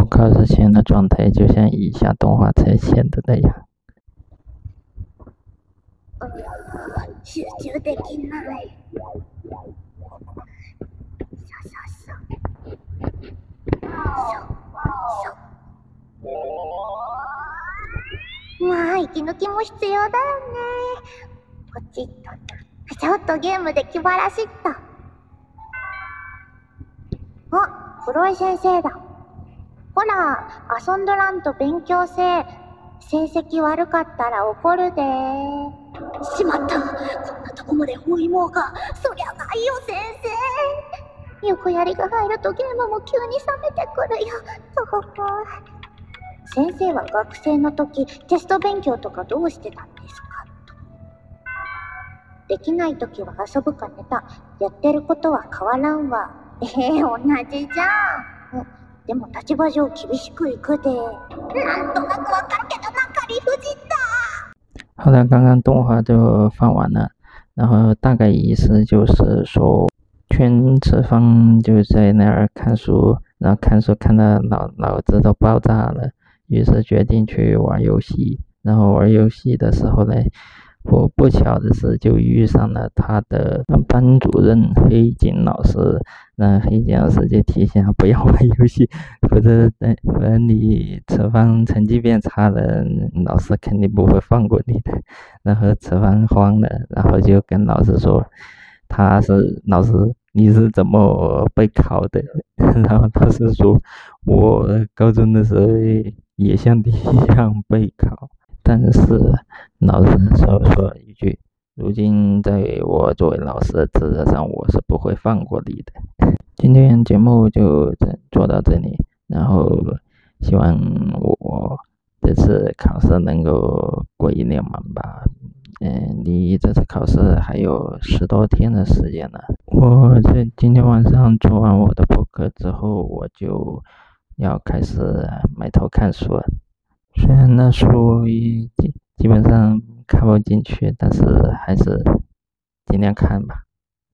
考试前的状态就像以下动画呈现的那样。 集中できない。まあ息抜きも必要だよね。ポチッとな。ちょっとゲームで気晴らしっと。あ、黒井先生だ。ほら、遊んどらんと勉強せえ。成績悪かったら怒るで。しまった。こんなとこまで包囲網が。そりゃないよ、先生。横やりが入るとゲームも急に冷めてくるよ。先生は学生の時、テスト勉強とかどうしてたんですか？できない時は遊ぶか寝た。やってることは変わらんわ。同じじゃん。でも立場上厳しくいくで。なんとなくわかるけどなんか理不尽だ。 好了，刚刚动画就放完了，然后大概意思就是说，全次方就在那儿看书，然后看书看到脑子都爆炸了，于是决定去玩游戏。然后玩游戏的时候呢，我不巧的是就遇上了他的班主任黑井老师。那黑井老师就提醒他不要玩游戏，否则你测方成绩变差了，老师肯定不会放过你的。然后测方慌了，然后就跟老师说，老师你是怎么备考的？然后老师说，我高中的时候也像你一样备考，但是老师说一句，如今在我作为老师的职责上，我是不会放过你的。今天节目就做到这里，然后希望我这次考试能够过一年满吧。离这次考试还有10多天的时间了。我在今天晚上做完我的播客之后，我就要开始埋头看书了。虽然那书基本上看不进去，但是还是尽量看吧。